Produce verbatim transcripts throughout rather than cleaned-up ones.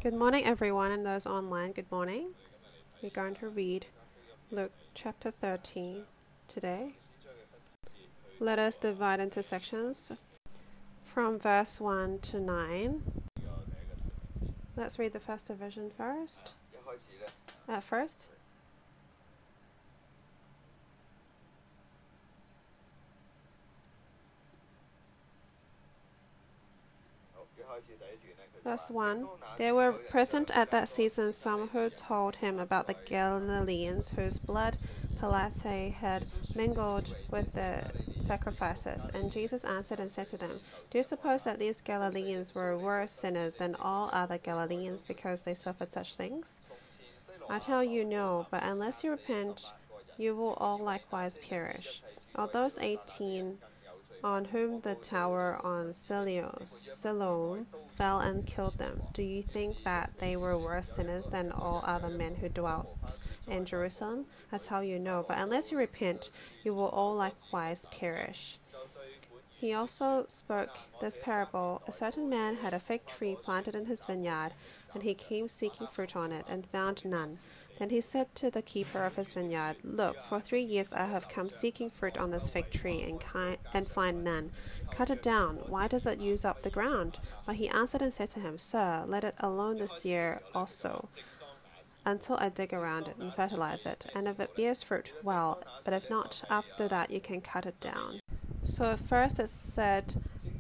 Good morning, everyone, and those online. Good morning. We're going to read Luke chapter thirteen today. Let us divide into sections from verse one to nine. Let's read the first division first. At first. Verse one. There were present at that season some who told him about the Galileans whose blood Pilate had mingled with the sacrifices. And Jesus answered and said to them, Do you suppose that these Galileans were worse sinners than all other Galileans because they suffered such things? I tell you no, but unless you repent, you will all likewise perish. All those eighteen on whom the tower on Siloam fell and killed them, do you think that they were worse sinners than all other men who dwelt in Jerusalem? I tell you no, but unless you repent, you will all likewise perish. He also spoke this parable. A certain man had a fig tree planted in his vineyard, and he came seeking fruit on it, and found none. Then he said to the keeper of his vineyard, Look, for three years I have come seeking fruit on this fig tree, and, ki- and find none. Cut it down. Why does it use up the ground? But he answered and said to him, Sir, let it alone this year also, until I dig around it and fertilize it. And if it bears fruit, well, but if not, after that you can cut it down. So at first it said,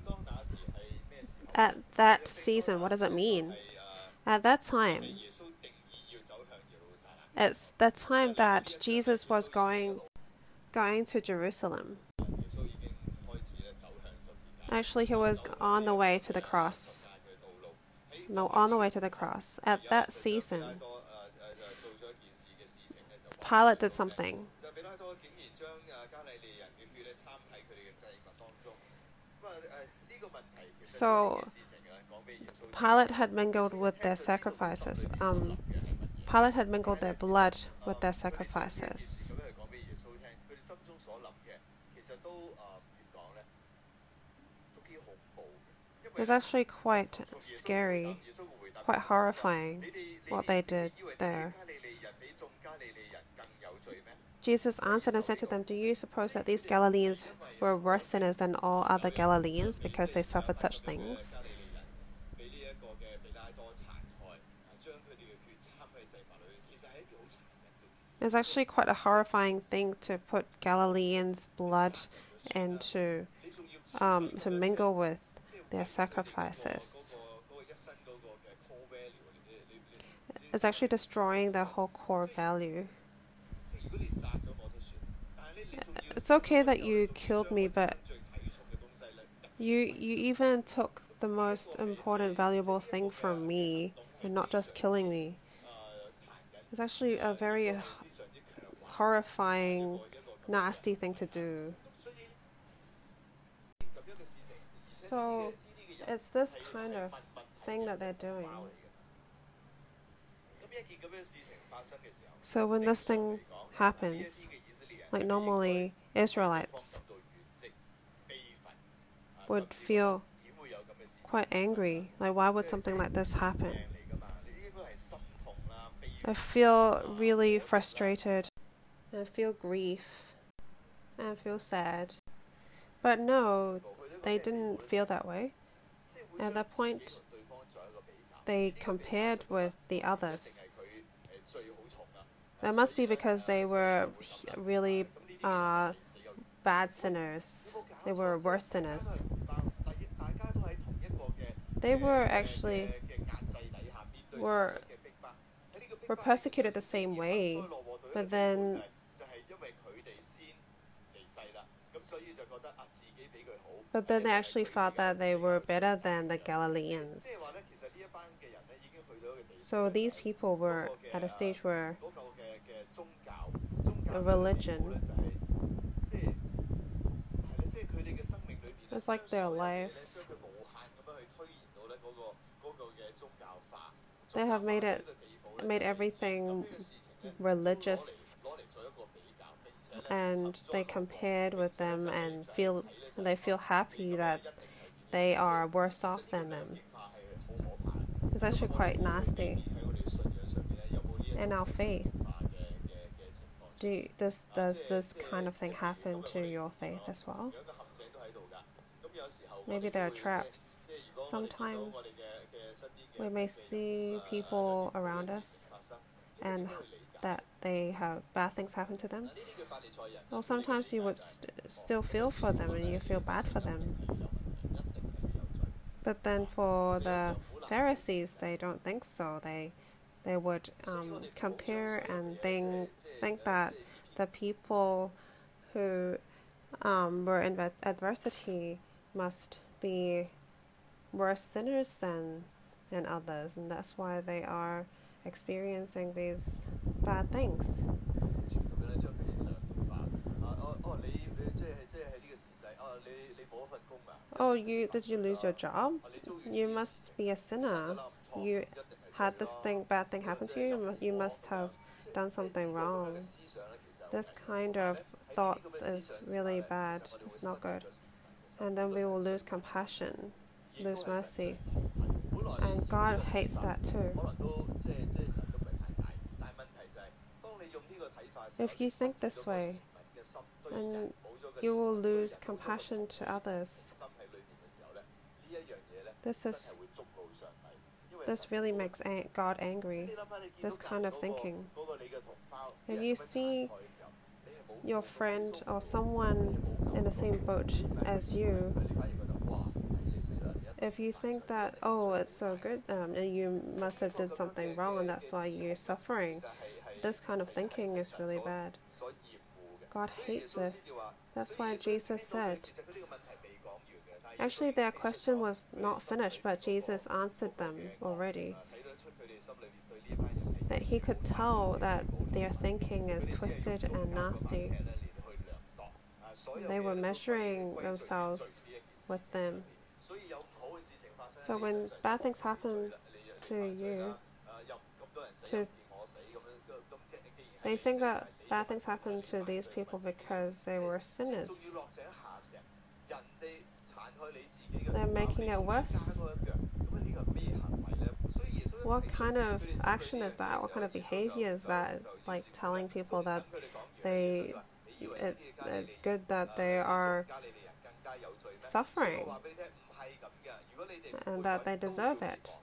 at that season. What does it mean? At that time. It's the time that Jesus was going going to Jerusalem. Actually, he was on the way to the cross. No, on the way to the cross. At that season, Pilate did something. So, Pilate had mingled with their sacrifices. Um, Pilate had mingled their blood with their sacrifices. It's actually quite scary, quite horrifying what they did there. Jesus answered and said to them, Do you suppose that these Galileans were worse sinners than all other Galileans because they suffered such things? It's actually quite a horrifying thing to put Galileans' blood into, um, to mingle with their sacrifices. It's actually destroying their whole core value. It's okay that you killed me, but you you even took the most important, valuable thing from me, and not just killing me. It's actually a very horrifying, nasty thing to do. So, it's this kind of thing that they're doing. So when this thing happens, like normally Israelites would feel quite angry. Like, why would something like this happen? I feel really frustrated. I feel grief. I feel sad. But no, they didn't feel that way. At that point, they compared with the others. That must be because they were really uh, bad sinners. They were worse sinners. They were actually were were persecuted the same way, but then but then they actually thought that they were better than the Galileans. So these people were at a stage where a religion, it's like their life. They have made it, made everything religious, and they compared with them and feel they feel happy that they are worse off than them. It's actually quite nasty. In our faith, do you, does, does this kind of thing happen to your faith as well? Maybe there are traps. Sometimes we may see people around us and that they have bad things happen to them. Well, sometimes you would st still feel for them and you feel bad for them. But then for the Pharisees, they don't think so. They they would um, compare and think, think that the people who um, were in adversity must be worse sinners than, than others, and that's why they are experiencing these bad things. Oh, you did you lose your job? You must be a sinner. You had this thing, bad thing happen to you. You must have done something wrong. This kind of thoughts is really bad. It's not good. And then we will lose compassion, lose mercy. And God hates that too. If you think this way, then you will lose compassion to others. This is this really makes God angry, this kind of thinking. If you see your friend or someone in the same boat as you, if you think that, oh, it's so good, um, and you must have did something wrong and that's why you're suffering, this kind of thinking is really bad. God hates this. That's why Jesus said, actually their question was not finished, but Jesus answered them already. That he could tell that their thinking is twisted and nasty. They were measuring themselves with them. So when bad things happen to you, to they think that bad things happen to these people because they were sinners. They're making it worse. What kind of action is that? What kind of behavior is that? Like telling people that they, it's, it's good that they are suffering and that they deserve it.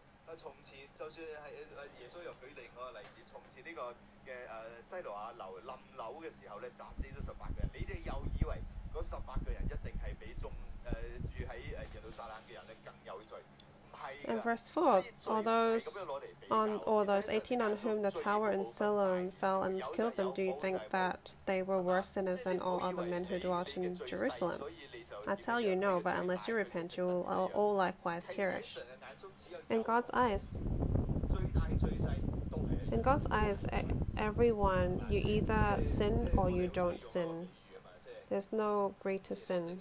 In verse four, all those on all those eighteen on whom the tower in Siloam fell and killed them, do you think that they were worse sinners than all other men who dwelt in Jerusalem? I tell you, no, but unless you repent, you will all, all likewise perish. In God's eyes, in God's eyes, everyone, you either sin or you don't sin. There's no greater sin.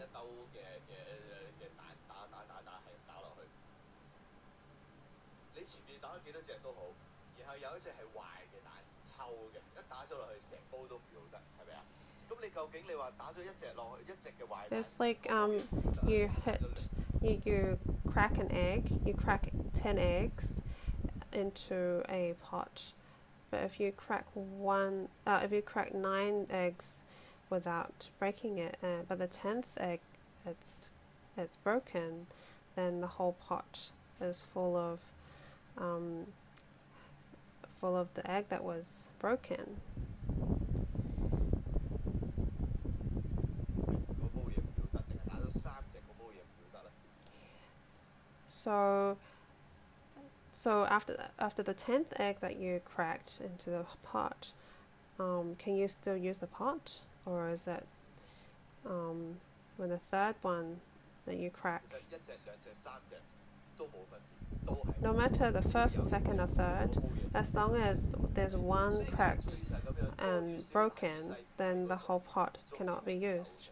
It's like um, you hit, you, you crack an egg, you crack ten eggs into a pot. But if you crack one, uh, if you crack nine eggs without breaking it, uh, but the tenth egg, it's it's broken, then the whole pot is full of um, full of the egg that was broken. So, so after after the tenth egg that you cracked into the pot, um, can you still use the pot, or is that um, when the third one that you crack? No matter the first, the second, or third, as long as there's one cracked and broken, then the whole pot cannot be used.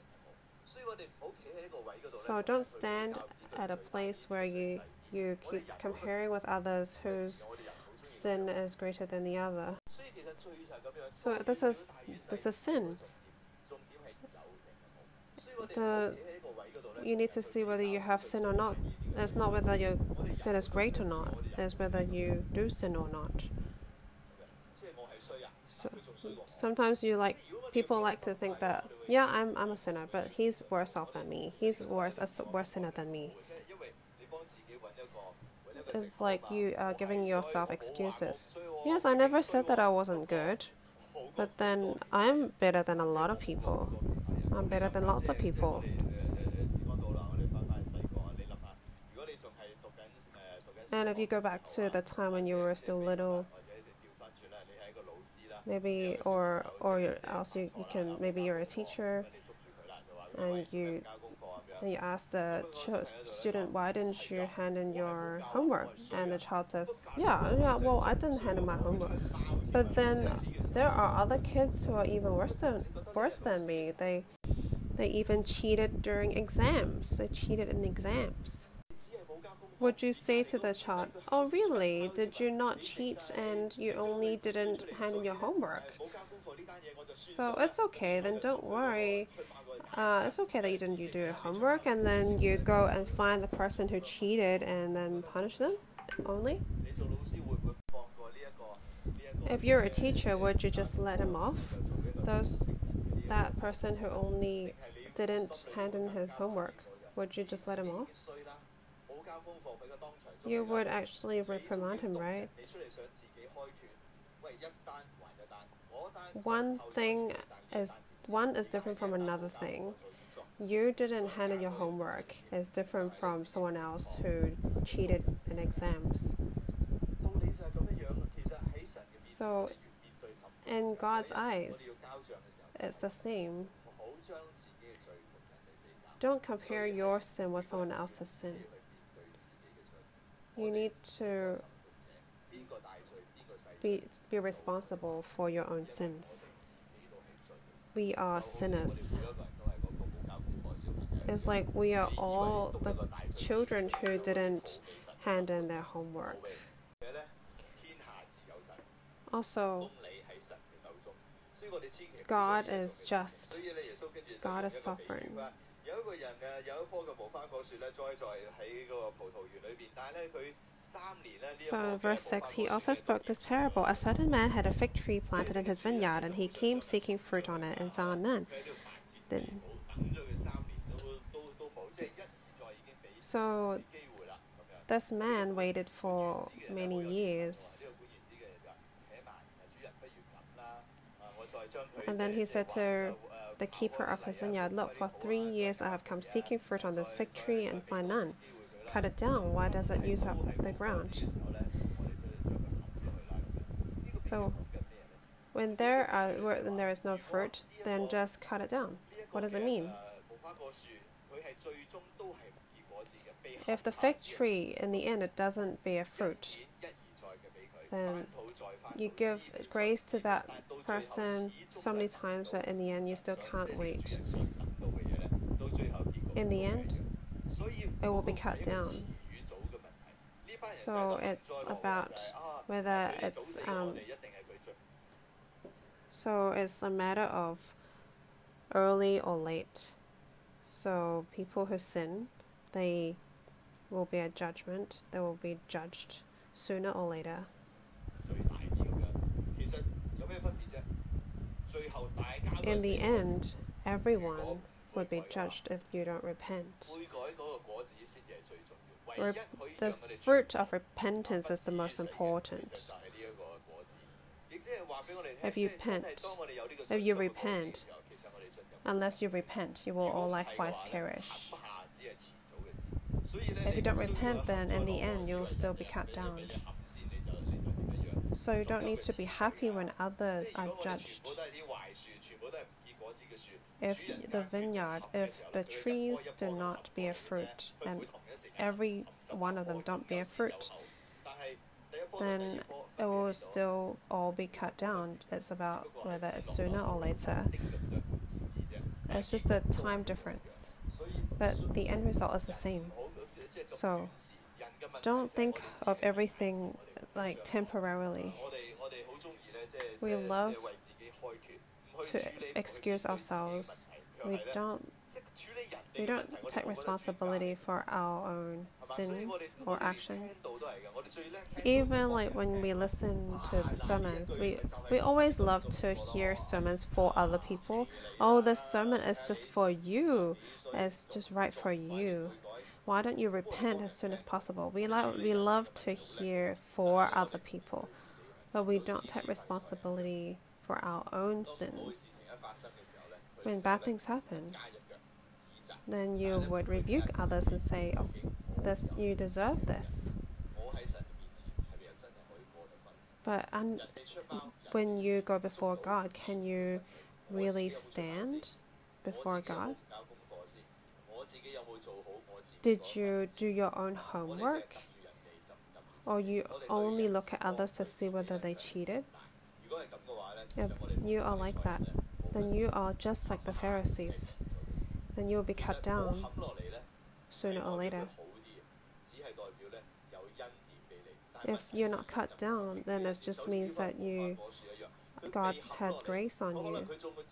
So don't stand at a place where you, you keep comparing with others whose sin is greater than the other. So this is this is sin. The, you need to see whether you have sin or not It's not whether your sin is great or not. It's whether you do sin or not. So sometimes you like people like to think that yeah, I'm I'm a sinner, but he's worse off than me. He's worse a worse sinner than me. It's like you are giving yourself excuses. Yes, I never said that I wasn't good, but then I'm better than a lot of people. I'm better than lots of people. And if you go back to the time when you were still little, maybe, or or else you, you can, maybe you're a teacher, and you and you ask the student, why didn't you hand in your homework? And the child says, yeah, yeah, well, I didn't hand in my homework. But then there are other kids who are even worse than worse than me. They they even cheated during exams. They cheated in exams. Would you say to the child, oh really, did you not cheat and you only didn't hand in your homework? So it's okay, then don't worry. Uh, it's okay that you didn't you do your homework, and then you go and find the person who cheated and then punish them only? If you're a teacher, would you just let him off? Those, that person who only didn't hand in his homework, would you just let him off? You would actually reprimand him, right? One thing is one is different from another thing. You didn't hand in your homework is different from someone else who cheated in exams. So, in God's eyes, it's the same. Don't compare your sin with someone else's sin. You need to be, be responsible for your own sins. We are sinners. It's like we are all the children who didn't hand in their homework. Also, God is just. God is sovereign. So in verse six, he also spoke this parable. A certain man had a fig tree planted in his vineyard, and he came seeking fruit on it and found none. Then, so this man waited for many years. And then he said to the keeper of his vineyard, look, for three years I have come seeking fruit on this fig tree and find none. Cut it down. Why does it use up the ground? So when there are when there is no fruit, then just cut it down. What does it mean? If the fig tree in the end it doesn't bear fruit, then you give grace to that person so many times that in the end you still can't wait. In the end, it will be cut down. So it's about whether it's um, so it's a matter of early or late. So people who sin, they will be a judgment. They will be judged sooner or later. In the end, everyone would be judged if you don't repent. Rep the fruit of repentance is the most important. If you repent, if you repent, unless you repent, you will all likewise perish. If you don't repent, then in the end, you will still be cut down. So you don't need to be happy when others are judged. If the vineyard, if the trees do not bear fruit, and every one of them don't bear fruit, then it will still all be cut down. It's about whether it's sooner or later. It's just a time difference. But the end result is the same. So don't think of everything like temporarily. We love to excuse ourselves. We don't We don't take responsibility for our own sins or actions. Even like when we listen to sermons, we, we always love to hear sermons for other people. Oh, this sermon is just for you. It's just right for you. Why don't you repent as soon as possible? We, lo- we love to hear for other people, but we don't take responsibility for our own sins. When bad things happen, then you would rebuke others and say, oh, this, you deserve this. But un- when you go before God, can you really stand before God? Did you do your own homework? Or you only look at others to see whether they cheated? If you are like that, then you are just like the Pharisees. Then you will be cut down sooner or later. If you're not cut down, then it just means that you, God had grace on you.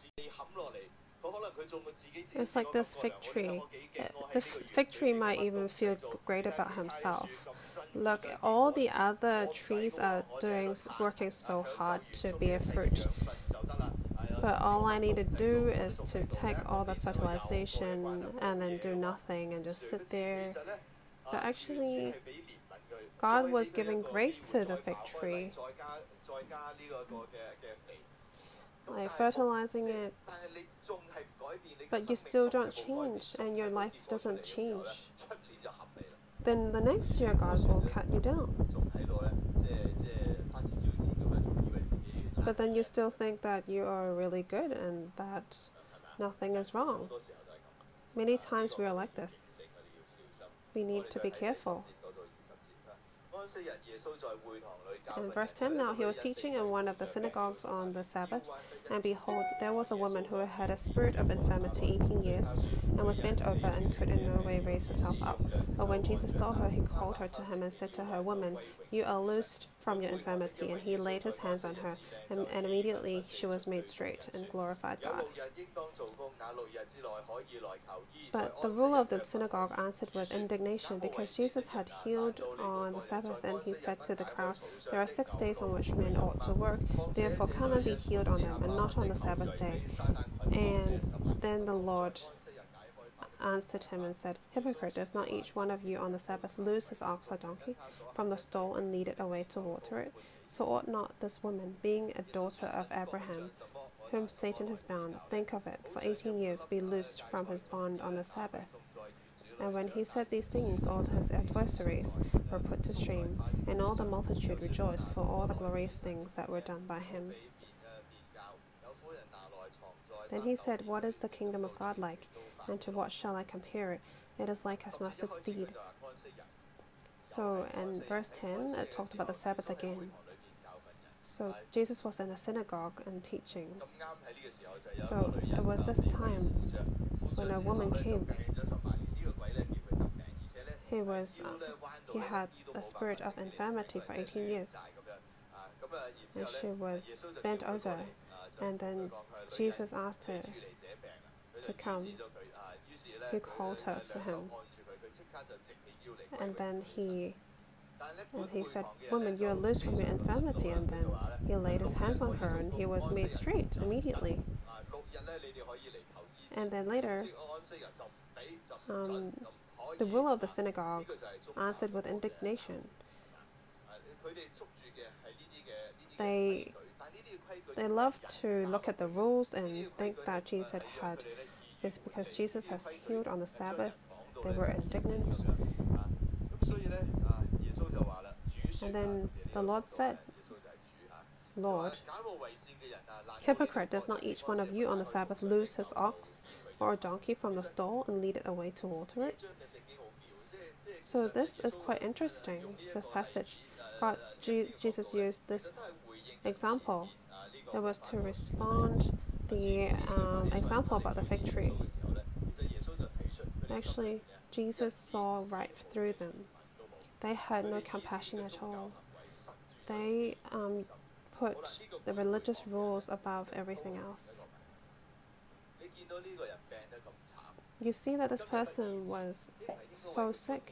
It's like this fig tree. The fig tree might even feel great about himself. Look, all the other trees are doing, working so hard to bear fruit. But all I need to do is to take all the fertilization and then do nothing and just sit there. But actually, God was giving grace to the fig tree, like fertilizing it. But you still don't change, and your life doesn't change. Then the next year, God will cut you down. But then you still think that you are really good and that nothing is wrong. Many times we are like this. We need to be careful. In verse ten, now he was teaching in one of the synagogues on the Sabbath, and behold, there was a woman who had a spirit of infirmity eighteen years, and was bent over and could in no way raise herself up. But when Jesus saw her, he called her to him and said to her, Woman, you are loosed from your infirmity. And he laid his hands on her, and, and immediately she was made straight and glorified God. But the ruler of the synagogue answered with indignation, because Jesus had healed on the Sabbath, and he said to the crowd, There are six days on which men ought to work, therefore come and be healed on them, and not on the Sabbath day. And then the Lord answered him and said, Hypocrite, does not each one of you on the Sabbath loose his ox or donkey from the stall and lead it away to water it? So ought not this woman, being a daughter of Abraham, whom Satan has bound, think of it, for eighteen years be loosed from his bond on the Sabbath? And when he said these things, all his adversaries were put to shame, and all the multitude rejoiced for all the glorious things that were done by him. Then he said, What is the kingdom of God like? And to what shall I compare it? It is like a mustard seed. So in verse ten, it talked about the Sabbath again. So Jesus was in a synagogue and teaching. So it was this time when a woman came. He was, uh, he had a spirit of infirmity for eighteen years. And she was bent over. And then Jesus asked her to come. He called her to him. And then he and he said, Woman, you are loosed from your infirmity. And then he laid his hands on her, and he was made straight immediately. And then later, um, the ruler of the synagogue answered with indignation. They They love to look at the rules and think that Jesus had this because Jesus has healed on the Sabbath. They were indignant. And then the Lord said, Lord, hypocrite, does not each one of you on the Sabbath loose his ox or a donkey from the stall and lead it away to water it? So this is quite interesting, this passage. God, G- Jesus used this example. It was to respond the um, example about the fig tree. Actually, Jesus saw right through them. They had no compassion at all. They um, put the religious rules above everything else. you see that this person was so sick.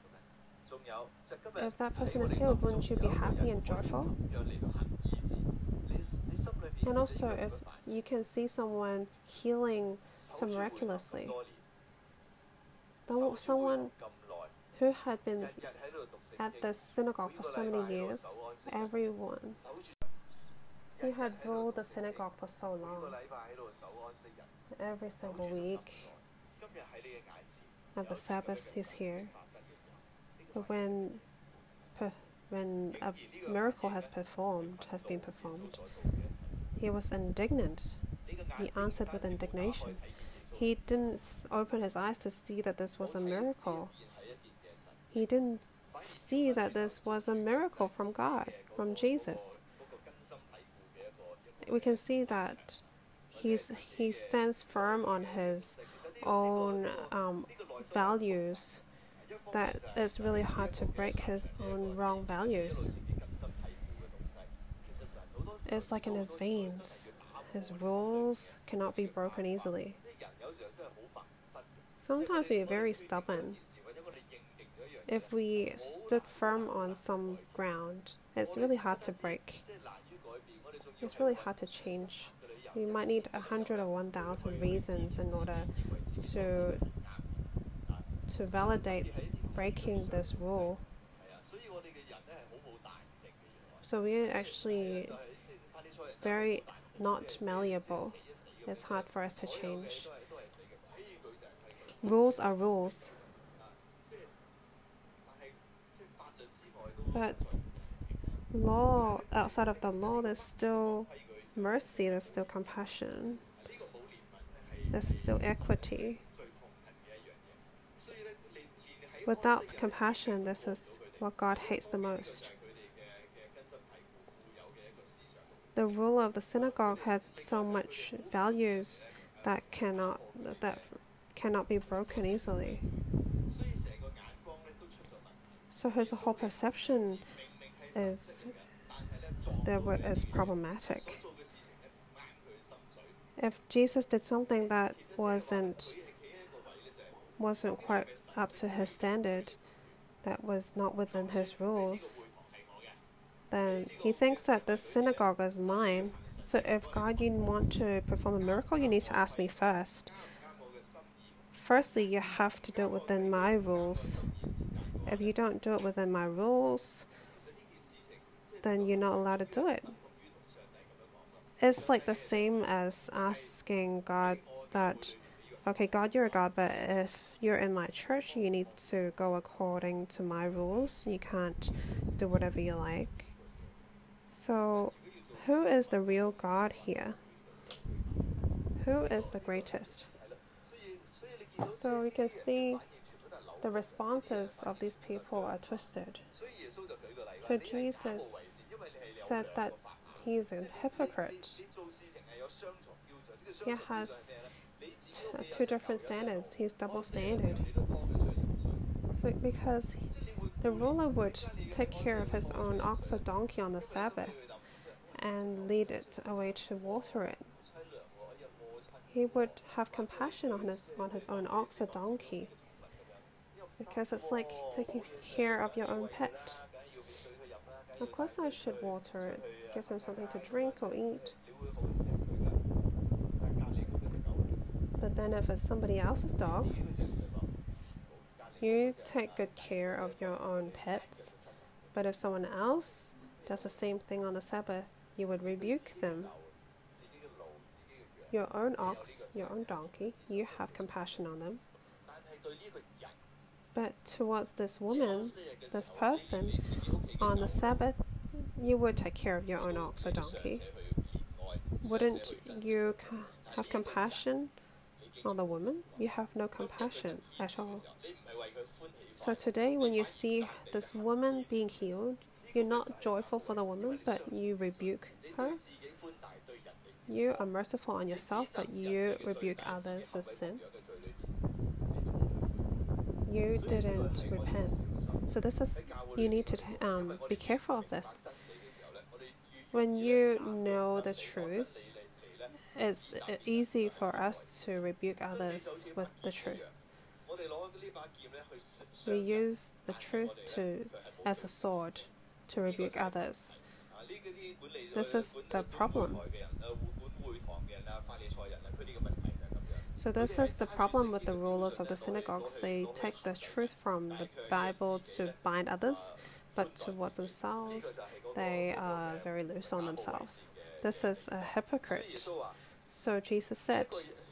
If that person is healed, wouldn't you be happy and joyful? And also, if you can see someone healing so miraculously, someone who had been at the synagogue for so many years, everyone who had ruled the synagogue for so long, every single week, at the Sabbath, he's here. But when, when a miracle has performed, has been performed, he was indignant. He answered with indignation. He didn't open his eyes to see that this was a miracle. He didn't see that this was a miracle from God, from Jesus. We can see that he's, he stands firm on his own um, values, that it's really hard to break his own wrong values. It's like in his veins. His rules cannot be broken easily. Sometimes we are very stubborn. If we stood firm on some ground, it's really hard to break. It's really hard to change. We might need a hundred or one thousand reasons in order to to validate breaking this rule. So we're actually very not malleable. It's hard for us to change. Rules are rules. But law, outside of the law, there's still mercy, there's still compassion, there's still equity. Without compassion, this is what God hates the most. The ruler of the synagogue had so much values that cannot that cannot be broken easily. So his whole perception is there is problematic. If Jesus did something that wasn't wasn't quite up to his standard, that was not within his rules, then he thinks that the synagogue is mine. So if God, you want to perform a miracle, you need to ask me first. Firstly, you have to do it within my rules. If you don't do it within my rules, then you're not allowed to do it. It's like the same as asking God that, okay, God, you're a God, but if you're in my church, you need to go according to my rules. You can't do whatever you like. So, who is the real God here? Who is the greatest? So we can see the responses of these people are twisted. So Jesus said that he is a hypocrite. He has t- two different standards. He's double standard. So because the ruler would take care of his own ox or donkey on the Sabbath and lead it away to water it. He would have compassion on his on his own ox or donkey, because it's like taking care of your own pet. Of course I should water it, give him something to drink or eat. But then if it's somebody else's dog, you take good care of your own pets. But if someone else does the same thing on the Sabbath, you would rebuke them. Your own ox, your own donkey, you have compassion on them. But towards this woman, this person, on the Sabbath, you would take care of your own ox or donkey. Wouldn't you have compassion on the woman? You have no compassion at all. So today, when you see this woman being healed, you're not joyful for the woman, but you rebuke her. You are merciful on yourself, but you rebuke others' sin. You didn't repent. So this is, you need to t- um, be careful of this. When you know the truth, it's easy for us to rebuke others with the truth. We use the truth to, as a sword to rebuke others. This is the problem. So this is the problem with the rulers of the synagogues. They take the truth from the Bible to bind others, but towards themselves, they are very loose on themselves. This is a hypocrite. So Jesus said,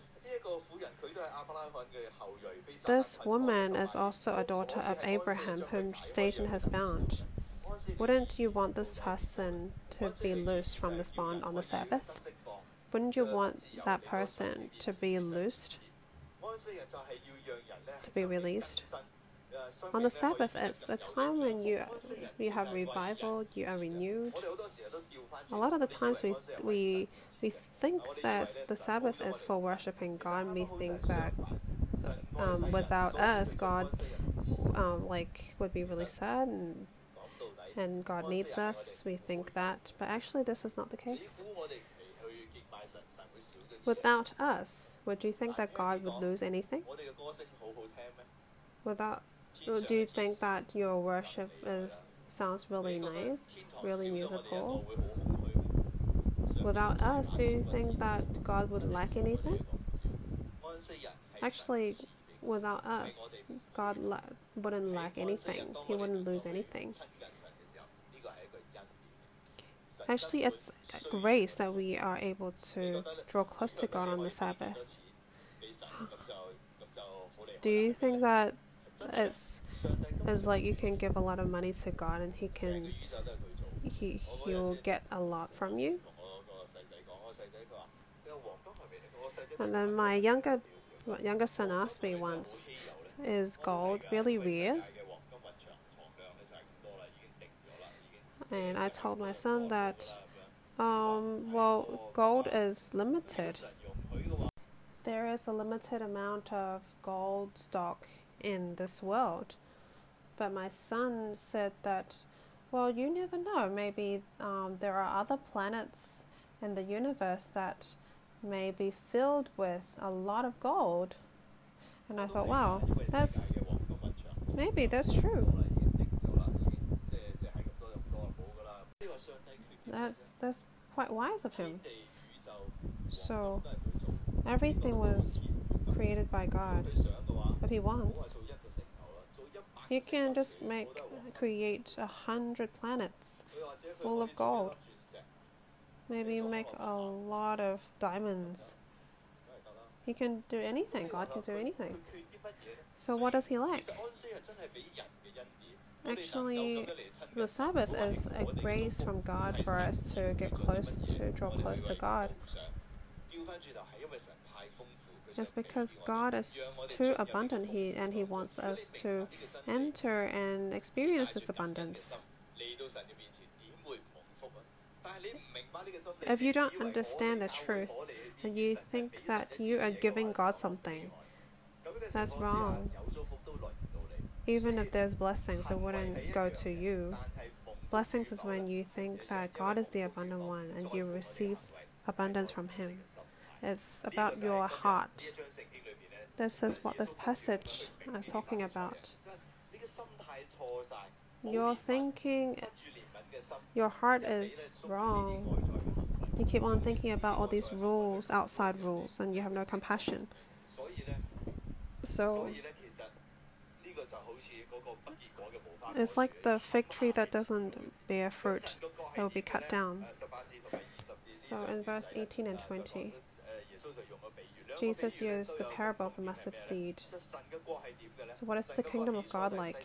this woman is also a daughter of Abraham, whom Satan has bound. Wouldn't you want this person to be loosed from this bond on the Sabbath? Wouldn't you want that person to be loosed, to be released? On the Sabbath, it's a time when you you have revival, you are renewed. A lot of the times we we we think that the Sabbath is for worshiping God. We think that um, without us, God um, like would be really sad, and and God needs us. We think that, but actually, this is not the case. Without us, would you think that God would lose anything? Without, do you think that your worship is sounds really nice, really musical? Without us, do you think that God would lack anything? Actually, without us, God la wouldn't lack anything. He wouldn't lose anything. Actually, it's grace that we are able to draw close to God on the Sabbath. Do you think that it's, it's like you can give a lot of money to God and He can he He'll get a lot from you? And then my younger my younger son asked me once, "Is gold really rare?" And I told my son that, um, well, gold is limited. There is a limited amount of gold stock in this world. But my son said that, well, you never know. Maybe um, there are other planets in the universe that may be filled with a lot of gold. And I thought, wow, that's maybe that's true. That's that's quite wise of him. So everything was created by God. If He wants, He can just make create a hundred planets full of gold. Maybe make a lot of diamonds. He can do anything. God can do anything. So what does He like? Actually, the Sabbath is a grace from God for us to get close, to draw close to God. It's because God is too abundant, He and He wants us to enter and experience this abundance. If you don't understand the truth and you think that you are giving God something, that's wrong. Even if there's blessings, it wouldn't go to you. Blessings is when you think that God is the abundant one and you receive abundance from Him. It's about your heart. This is what this passage is talking about. Your thinking, your heart is wrong. You keep on thinking about all these rules, outside rules, and you have no compassion. So it's like the fig tree that doesn't bear fruit. It will be cut down. So in verse eighteen and twenty, Jesus used the parable of the mustard seed. So what is the kingdom of God like?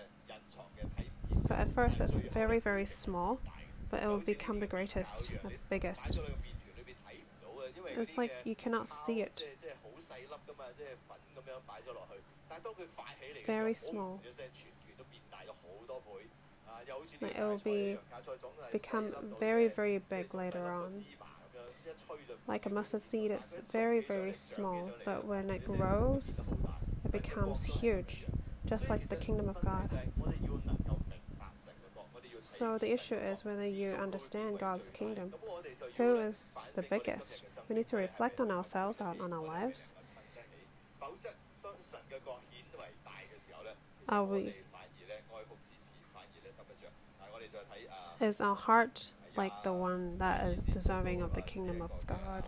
So at first it's very, very small, but it will become the greatest, the biggest. It's like you cannot see it. Very small. Like it will be become very, very big later on. Like a mustard seed, it's very, very small, but when it grows, it becomes huge, just like the kingdom of God. So the issue is whether you understand God's kingdom. Who is the biggest? We need to reflect on ourselves, on, on our lives. Are we, is our heart like the one that is deserving of the kingdom of God?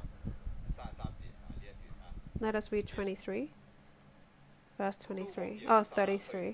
Let us read twenty-three. Verse twenty-three. Oh, thirty-three.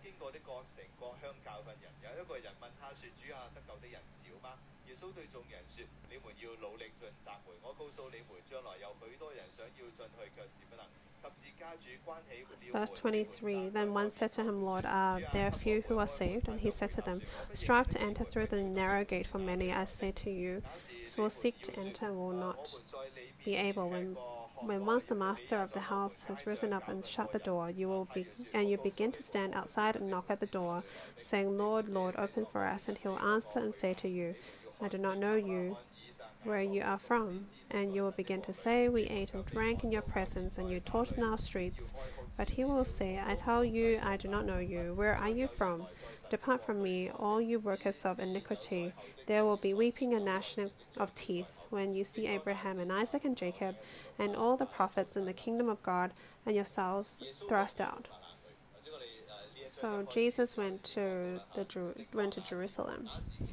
Verse twenty-three. Then one said to him, Lord, are there few who are saved? And he said to them, strive to enter through the narrow gate, for many, I say to you, so will seek to enter and will not be able. When When once the master of the house has risen up and shut the door, you will be, and you begin to stand outside and knock at the door, saying, Lord, Lord, open for us. And he will answer and say to you, I do not know you, where you are from. And you will begin to say, we ate and drank in your presence, and you taught in our streets. But he will say, I tell you, I do not know you. Where are you from? Depart from me, all you workers of iniquity. There will be weeping and gnashing of teeth when you see Abraham and Isaac and Jacob and all the prophets in the kingdom of God, and yourselves thrust out. So Jesus went to the Jer- went to Jerusalem.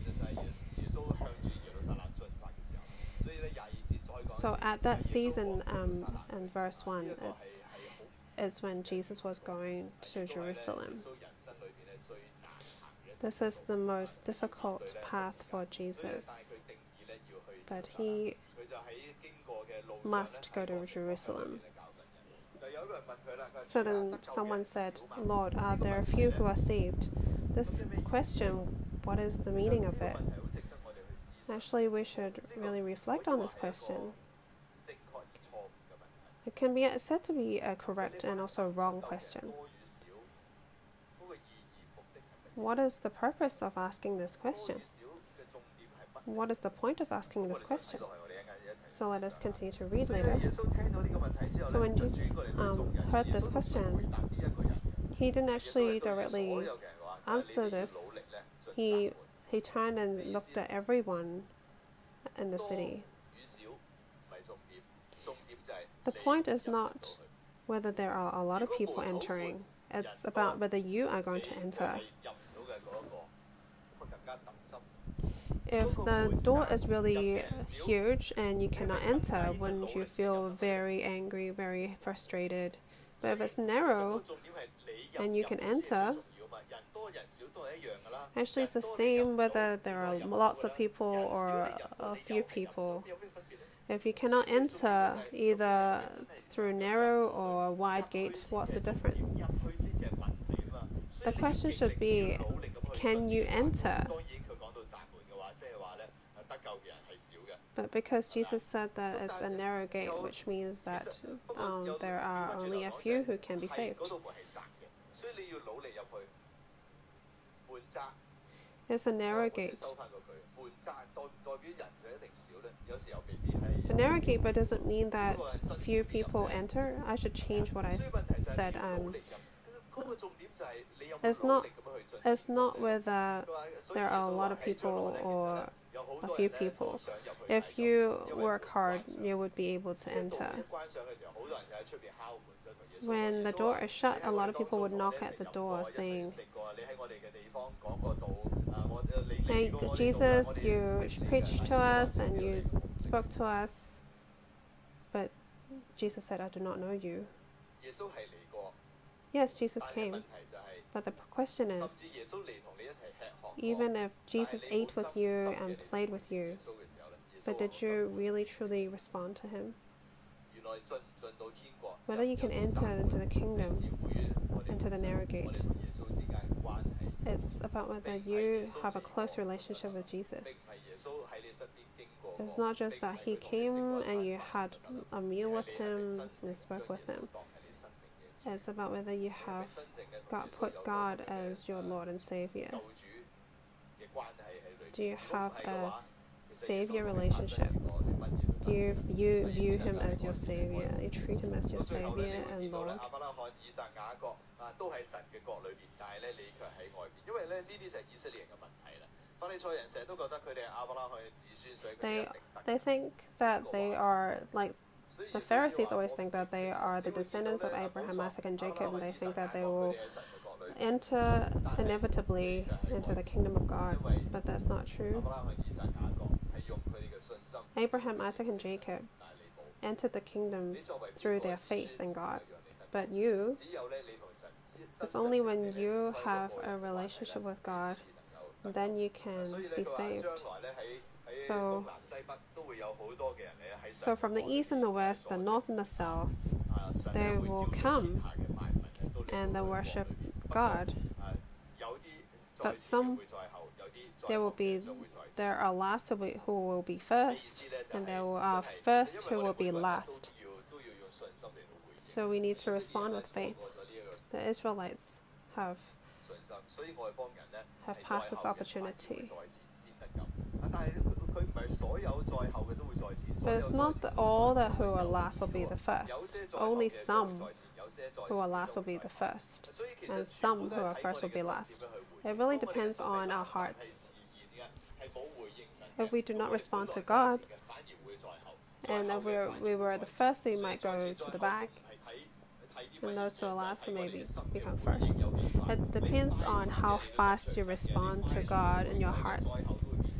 So at that season, um, in verse one, it's, it's when Jesus was going to Jerusalem. This is the most difficult path for Jesus, but he must go to Jerusalem. So then someone said, Lord, are there few who are saved? This question, what is the meaning of it? Actually, we should really reflect on this question. It can be said to be a correct and also wrong question. What is the purpose of asking this question? What is the point of asking this question? So let us continue to read later. So when Jesus um, heard this question, he didn't actually directly answer this. He, he turned and looked at everyone in the city. The point is not whether there are a lot of people entering. It's about whether you are going to enter. If the door is really huge and you cannot enter, wouldn't you feel very angry, very frustrated? But if it's narrow and you can enter, actually it's the same whether there are lots of people or a few people. If you cannot enter either through narrow or a wide gate, what's the difference? The question should be, can you enter? But because Jesus said that it's a narrow gate, which means that um, there are only a few who can be saved. It's a narrow gate. A narrow gate, but doesn't mean that few people enter. I should change what I s said. Um, it's not. It's not whether there are a lot of people or a few people. If you work hard, you would be able to enter. When the door is shut, a lot of people would knock at the door saying, Hey, Jesus, you preached to us and you spoke to us, but Jesus said, I do not know you. Yes, Jesus came, but the question is, even if Jesus ate with you and played with you, but did you really truly respond to him? Whether you can enter into the kingdom, into the narrow gate, it's about whether you have a close relationship with Jesus. It's not just that he came and you had a meal with him and spoke with him. It's about whether you have got, put God as your Lord and Savior. Do you have a Savior relationship? Do you view, view him as your Savior? You treat him as your Savior and Lord? They they think that they are like the Pharisees always think that they are the descendants of Abraham, Isaac, and Jacob, and they think that they will enter inevitably into the kingdom of God, but that's not true. Abraham, Isaac, and Jacob entered the kingdom through their faith in God, but you, it's only when you have a relationship with God, then you can be saved. So, so from the east and the west, the north and the south, they will come and they worship God. But some, there will be, there are last who will be, who will be first, and there are first who will be last. So we need to respond with faith. The Israelites have have passed this opportunity. But it's not that all that who are last will be the first. Only some who are last will be the first, and some who are first will be last. It really depends on our hearts. If we do not respond to God, and if we're, we were the first, we might go to the back, and those who are last will maybe become first. It depends on how fast you respond to God in your hearts.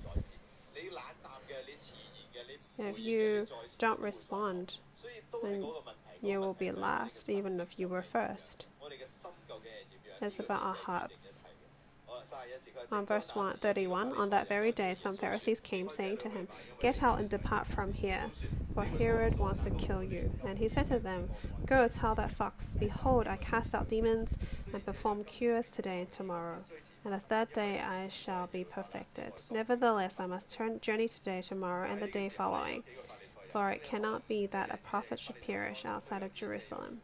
If you don't respond, then you will be last, even if you were first. It's about our hearts. On verse one, thirty-one, on that very day some Pharisees came, saying to him, "Get out and depart from here, for Herod wants to kill you." And he said to them, "Go tell that fox, behold, I cast out demons and perform cures today and tomorrow, and the third day I shall be perfected. Nevertheless, I must turn, journey today, tomorrow, and the day following, for it cannot be that a prophet should perish outside of Jerusalem."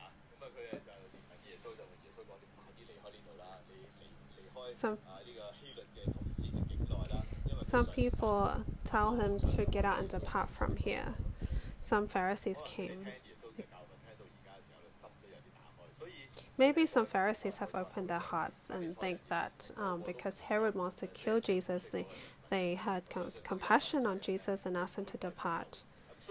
Some, some people tell him to get out and depart from here. Some Pharisees came. Maybe some Pharisees have opened their hearts and think that um, because Herod wants to kill Jesus, they, they had com compassion on Jesus and asked him to depart.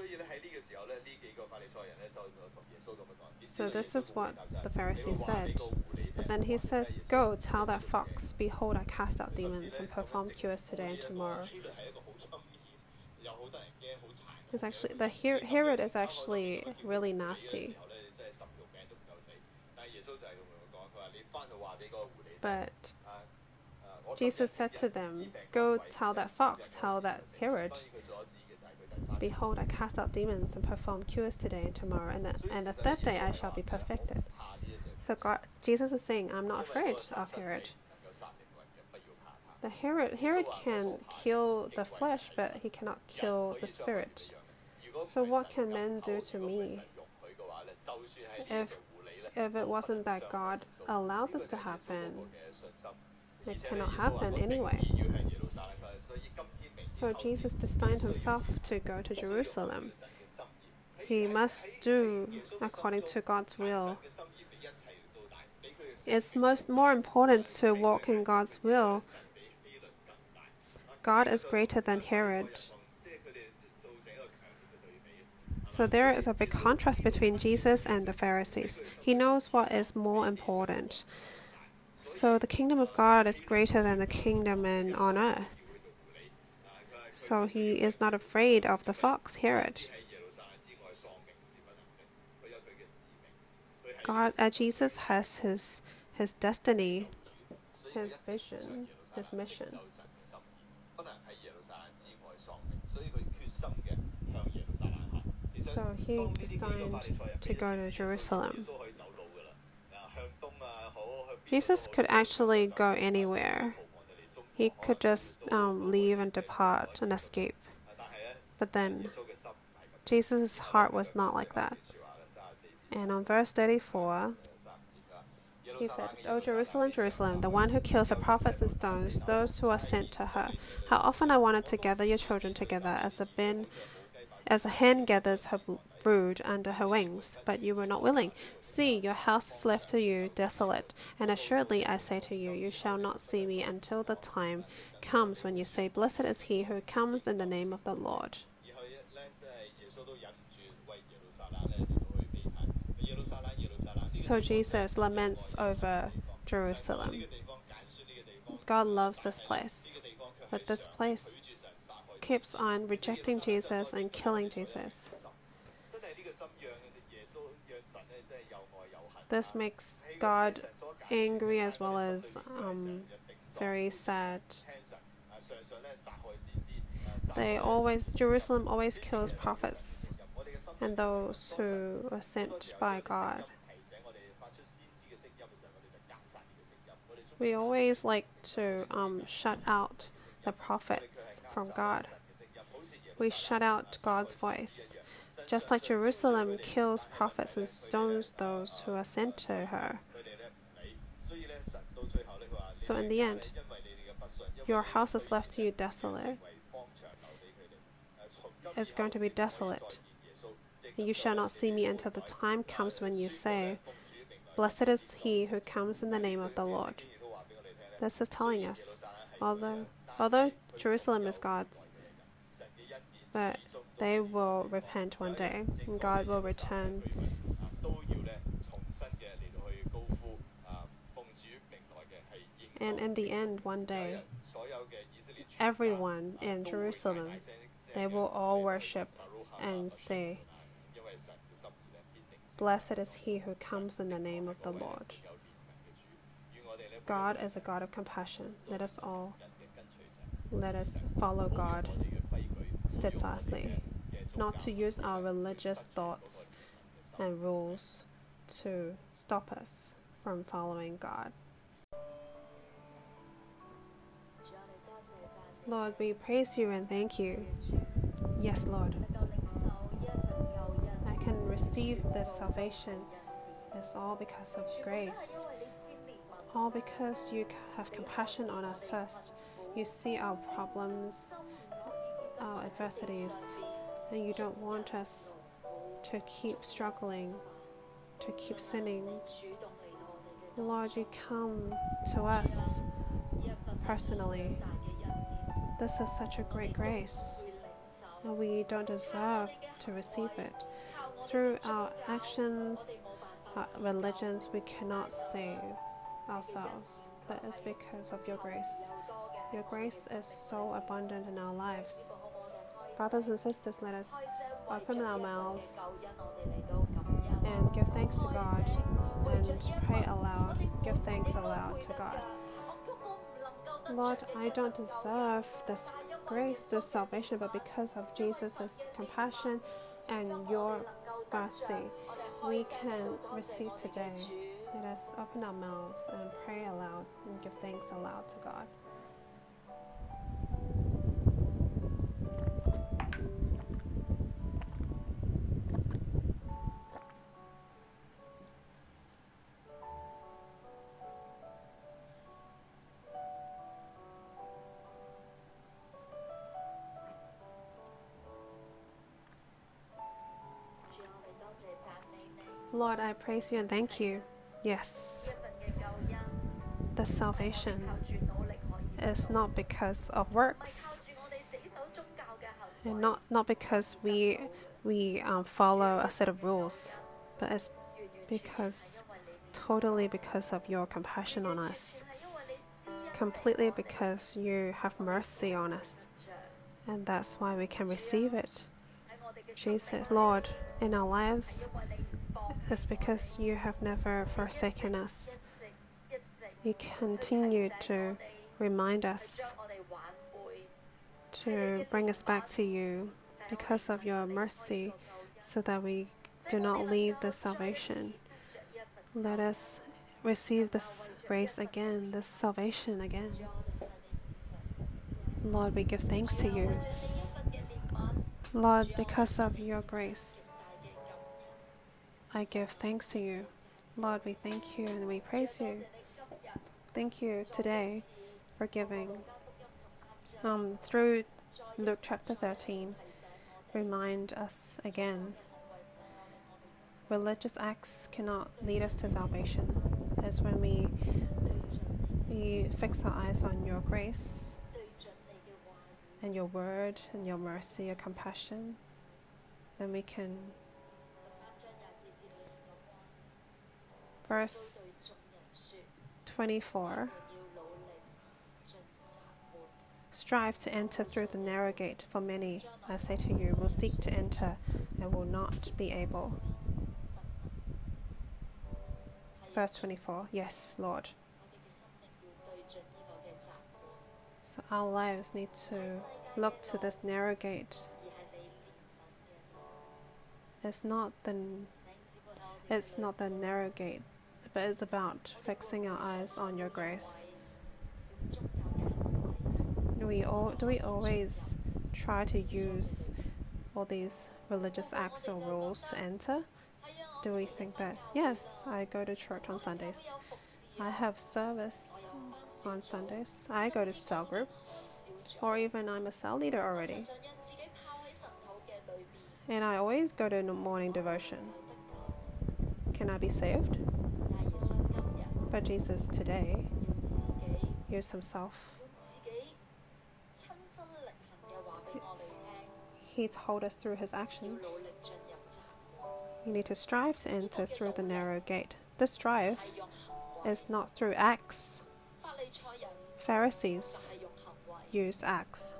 So this is what the Pharisee said. But then he said, "Go, tell that fox, behold, I cast out demons and perform cures today and tomorrow." It's actually, the Her Herod is actually really nasty. But Jesus said to them, "Go tell that fox, tell that Herod, behold, I cast out demons and perform cures today and tomorrow, and the, and the third day I shall be perfected." So God, Jesus is saying, I'm not afraid of Herod. The Herod, Herod can kill the flesh, but he cannot kill the spirit. So what can men do to me? If, if it wasn't that God allowed this to happen, it cannot happen anyway. So Jesus destined himself to go to Jerusalem. He must do according to God's will. It's most more important to walk in God's will. God is greater than Herod. So there is a big contrast between Jesus and the Pharisees. He knows what is more important. So the kingdom of God is greater than the kingdom in, on earth. So he is not afraid of the fox, Herod. God, uh, Jesus has his his destiny, his vision, his mission. So he destined to go to Jerusalem. Jesus could actually go anywhere. He could just um, leave and depart and escape. But then, Jesus' heart was not like that. And on verse thirty-four, he said, "O Jerusalem, Jerusalem, the one who kills the prophets and stones those who are sent to her. How often I wanted to gather your children together as a bin, as a hen gathers her brood under her wings, but you were not willing. See, your house is left to you desolate, and assuredly I say to you, you shall not see me until the time comes when you say, Blessed is he who comes in the name of the Lord. So Jesus laments over Jerusalem. God loves this place, but this place keeps on rejecting Jesus and killing Jesus. This makes God angry as well as um, very sad. They always, Jerusalem always kills prophets and those who are sent by God. We always like to um, shut out the prophets from God. We shut out God's voice. Just like Jerusalem kills prophets and stones those who are sent to her. So in the end, your house is left to you desolate. It's going to be desolate. You shall not see me until the time comes when you say, Blessed is he who comes in the name of the Lord. This is telling us, although, although Jerusalem is God's, but they will repent one day, and God will return. And in the end, one day, everyone in Jerusalem, they will all worship and say, Blessed is he who comes in the name of the Lord. God is a God of compassion. Let us all, let us follow God steadfastly, not to use our religious thoughts and rules to stop us from following God. Lord, we praise you and thank you. Yes, Lord. I can receive this salvation. It's all because of grace. All because you have compassion on us first. You see our problems, our adversities, and you don't want us to keep struggling, to keep sinning. Lord, you come to us personally. This is such a great grace, and we don't deserve to receive it. Through our actions, our religions, we cannot save ourselves, but it's because of your grace. Your grace is so abundant in our lives. Brothers and sisters, let us open our mouths and give thanks to God and pray aloud, give thanks aloud to God. Lord, I don't deserve this grace, this salvation, but because of Jesus' compassion and your mercy, we can receive today. Let us open our mouths and pray aloud and give thanks aloud to God. Lord, I praise you and thank you. Yes, the salvation is not because of works, and not not because we we um, follow a set of rules, but it's because totally because of your compassion on us, completely because you have mercy on us, and that's why we can receive it. Jesus, Lord, in our lives, it's because you have never forsaken us. You continue to remind us, to bring us back to you because of your mercy, so that we do not leave the salvation. Let us receive this grace again, this salvation again. Lord, we give thanks to you. Lord, because of your grace, I give thanks to you. Lord, we thank you and we praise you. Thank you today for giving. Um, through Luke chapter thirteen, remind us again religious acts cannot lead us to salvation. It's when we, we fix our eyes on your grace and your word and your mercy, your compassion, then we can. Verse twenty-four. Strive to enter through the narrow gate, for many, I say to you, will seek to enter and will not be able. Verse twenty-four. Yes, Lord. So our lives need to look to this narrow gate. It's not the, it's not the narrow gate, but it's about fixing our eyes on your grace. Do we, all, do we always try to use all these religious acts or rules to enter? Do we think that, yes, I go to church on Sundays, I have service on Sundays, I go to cell group, or even I'm a cell leader already, and I always go to morning devotion. Can I be saved? But Jesus today used himself. He told us through his actions. You need to strive to enter through the narrow gate. This strive is not through acts. Pharisees used acts.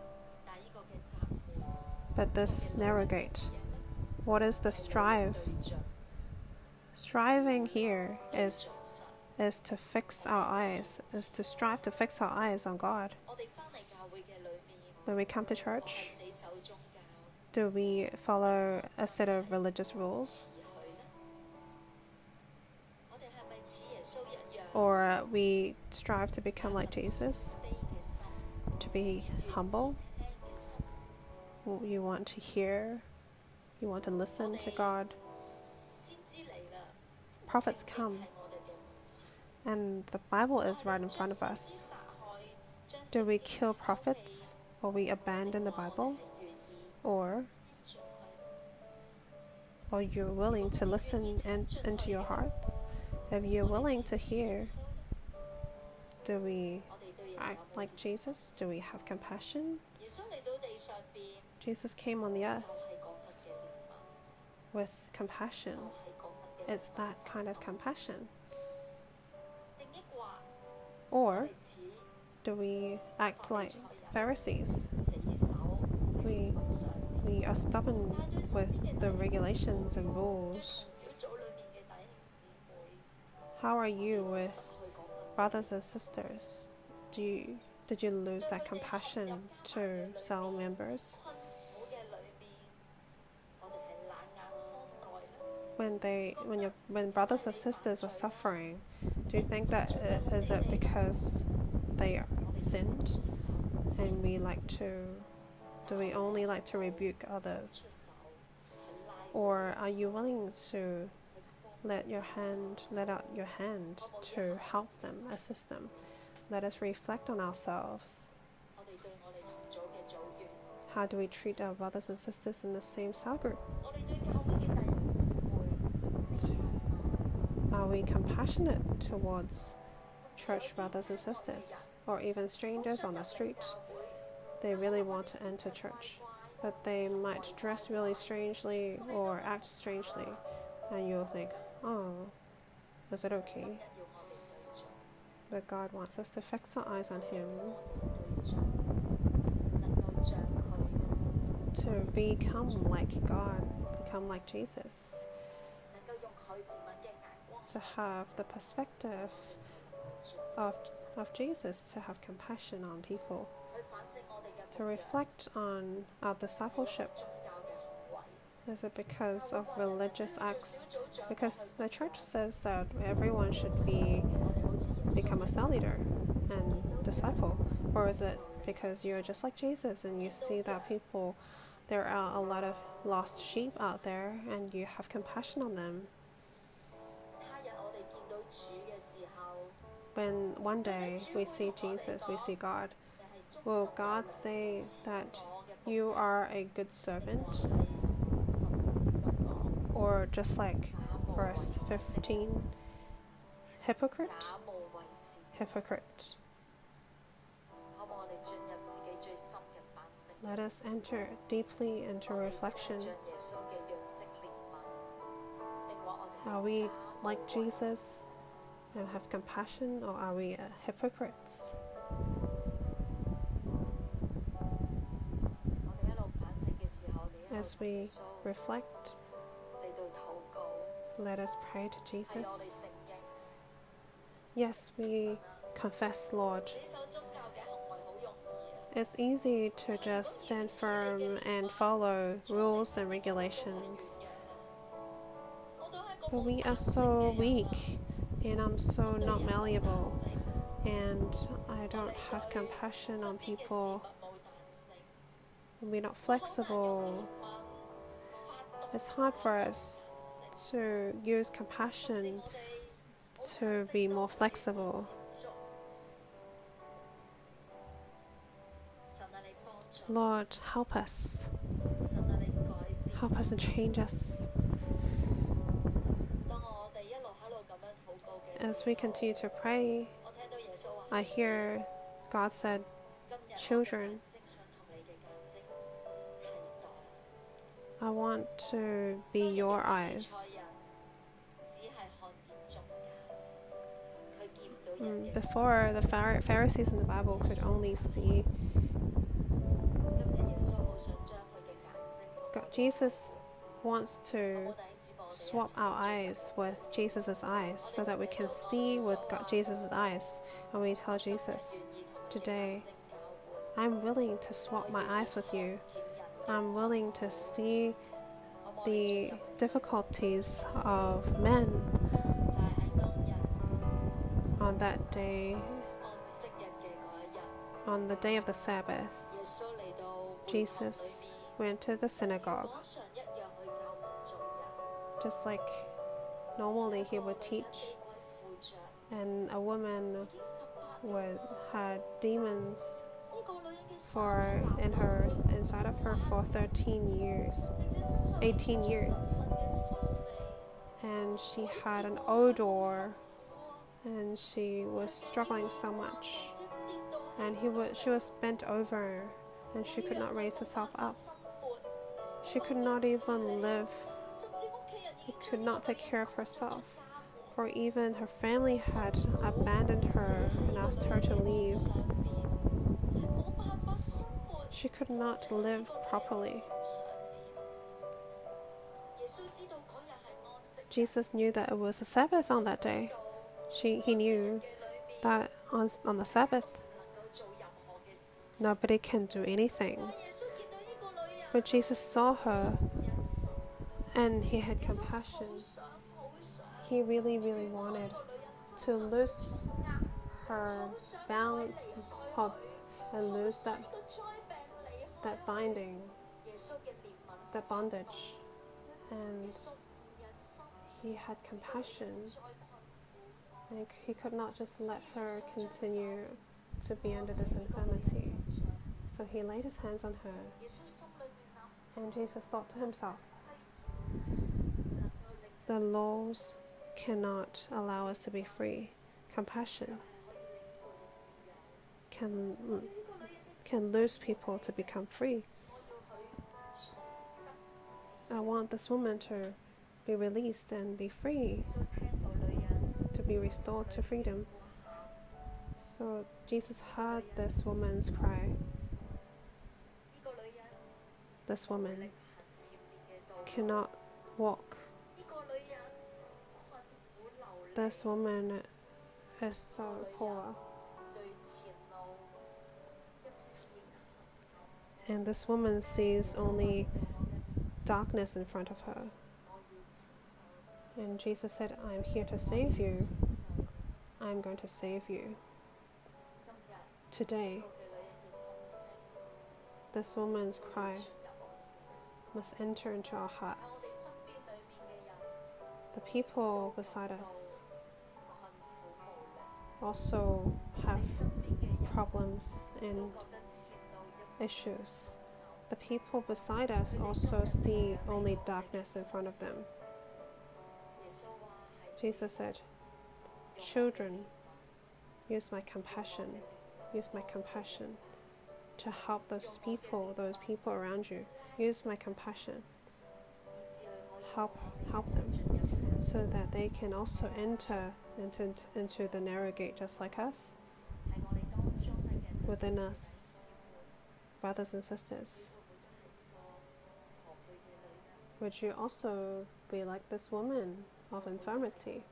But this narrow gate, what is the strive? Striving here is is to fix our eyes, is to strive to fix our eyes on God. When we come to church, do we follow a set of religious rules? Or we strive to become like Jesus, to be humble? You want to hear, you want to listen to God. Prophets come, and the Bible is right in front of us. Do we kill prophets, or we abandon the Bible? Or are you willing to listen and into your hearts? If you're willing to hear, do we act like Jesus? Do we have compassion? Jesus came on the earth with compassion. It's that kind of compassion. Or do we act like Pharisees? We we are stubborn with the regulations and rules. How are you with brothers and sisters? Do you, did you lose that compassion to cell members? When they, when your, when brothers or sisters are suffering, do you think that it, is it because they are sinned, and we like to? Do we only like to rebuke others? Or are you willing to let your hand, let out your hand to help them, assist them? Let us reflect on ourselves. How do we treat our brothers and sisters in the same cell group? Are we compassionate towards church brothers and sisters, or even strangers on the street? They really want to enter church, but they might dress really strangely or act strangely, and you'll think, oh, is it okay? But God wants us to fix our eyes on Him, to become like God, become like Jesus, to have the perspective of, of Jesus, to have compassion on people, to reflect on our discipleship. Is it because of religious acts? Because the church says that everyone should be become a cell leader and disciple. Or is it because you're just like Jesus and you see that people, there are a lot of lost sheep out there and you have compassion on them? When one day we see Jesus, we see God, will God say that you are a good servant? Or just like verse fifteen. Hypocrite, hypocrite. Let us enter deeply into reflection. Are we like Jesus and have compassion, or are we uh, hypocrites? As we reflect, let us pray to Jesus. Yes, we confess, Lord. It's easy to just stand firm and follow rules and regulations. But we are so weak, and I'm so not malleable, and I don't have compassion on people. We're not flexible. It's hard for us to use compassion to be more flexible. Lord, help us. Help us and change us. As we continue to pray, I hear God said, children, I want to be your eyes. Mm, before, the Pharisees in the Bible could only see. God, Jesus wants to swap our eyes with Jesus' eyes so that we can see with God, Jesus' eyes. And we tell Jesus, today, I'm willing to swap my eyes with you. I'm willing to see the difficulties of men. On that day, on the day of the Sabbath, Jesus went to the synagogue. Just like normally he would teach, and a woman would had demons for in her inside of her for thirteen years, eighteen years, and she had an odor, and she was struggling so much, and he was she was bent over, and she could not raise herself up. She could not even live. She could not take care of herself, or even her family had abandoned her and asked her to leave. She could not live properly. Jesus knew that it was a Sabbath on that day. She, he knew that on, on the Sabbath, nobody can do anything. But Jesus saw her, and he had compassion. He really, really wanted to loose her bound and loose that that binding, that bondage, and he had compassion. And he could not just let her continue to be under this infirmity. So he laid his hands on her, and Jesus thought to himself, the laws cannot allow us to be free. Compassion can can loose people to become free. I want this woman to be released and be free, to be restored to freedom. So Jesus heard this woman's cry. This woman cannot walk. This woman is so poor. And this woman sees only darkness in front of her. And Jesus said, I'm here to save you. I'm going to save you. Today, this woman's cry must enter into our hearts. The people beside us also have problems and issues. The people beside us also see only darkness in front of them. Jesus said, children, use my compassion, use my compassion to help those people, those people around you. Use my compassion. Help, help them so that they can also enter into, into the narrow gate just like us. Within us, brothers and sisters, would you also be like this woman of infirmity?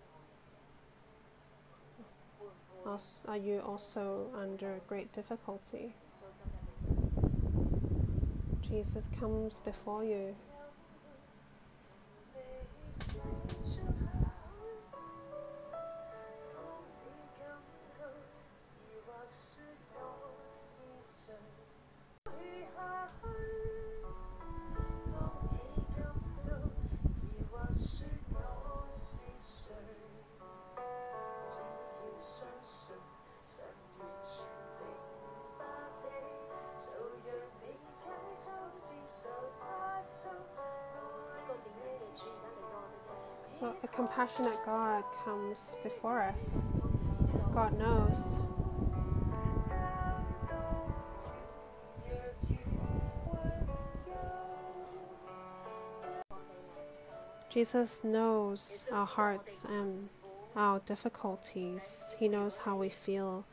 Are you also under great difficulty? Jesus comes before you. So a compassionate God comes before us. God knows. Jesus knows our hearts and our difficulties. He knows how we feel.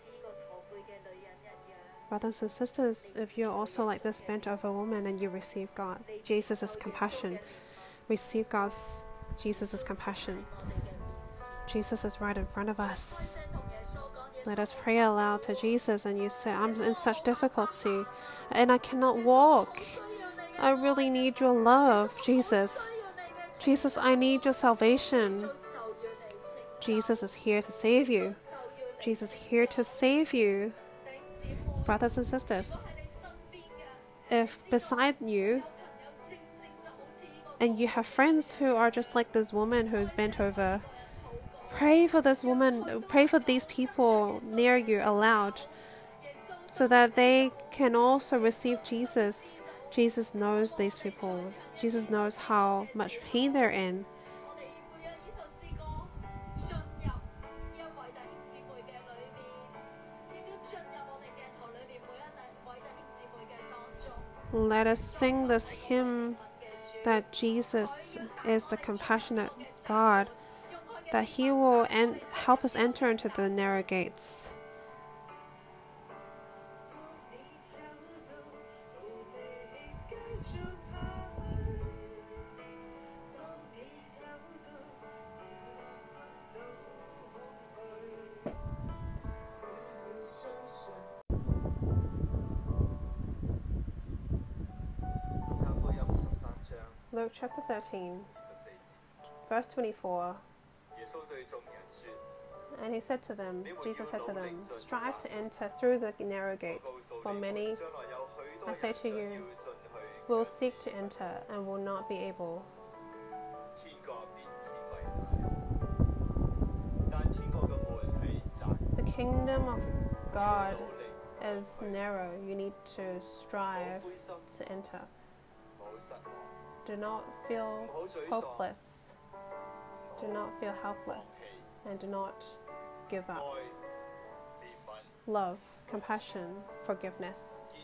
Brothers and sisters, if you're also like this bent over woman and you receive God, Jesus' compassion, receive God's, Jesus' compassion. Jesus is right in front of us. Let us pray aloud to Jesus, and you say, I'm in such difficulty and I cannot walk. I really need your love, Jesus. Jesus, I need your salvation. Jesus is here to save you. Jesus is here to save you. Brothers and sisters, if beside you and you have friends who are just like this woman who's bent over, pray for this woman, pray for these people near you aloud so that they can also receive Jesus. Jesus knows these people. Jesus knows how much pain they're in. Let us sing this hymn that Jesus is the compassionate God, that He will en- help us enter into the narrow gates. Luke chapter thirteen, verse twenty-four. And he said to them, Jesus said to them, strive to enter through the narrow gate, for many, I say to you, will seek to enter and will not be able. The kingdom of God is narrow. You need to strive to enter. Do not feel hopeless. Do not feel helpless. And do not give up. Love, compassion, forgiveness.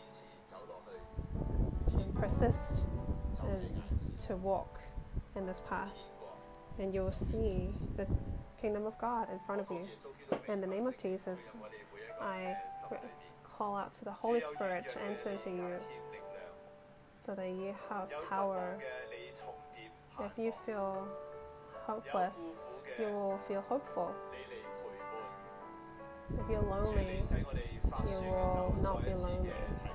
And persist and to walk in this path. And you will see the kingdom of God in front of you. In the name of Jesus, I call out to the Holy Spirit to enter into you, so that you have power. If you feel hopeless, you will feel hopeful. If you're lonely, you will not be lonely.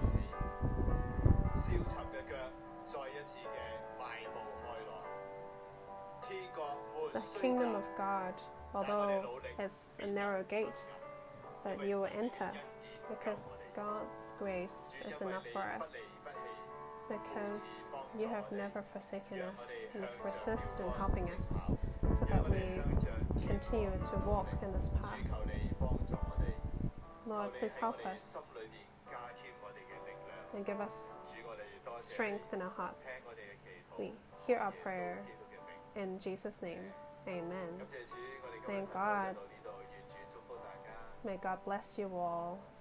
The kingdom of God, although it's a narrow gate, but you will enter, because God's grace is enough for us. Because you have never forsaken us, and you persist in helping us, so that we continue to walk in this path. Lord, please help us and give us strength in our hearts. We hear our prayer in Jesus' name. Amen. Thank God. May God bless you all.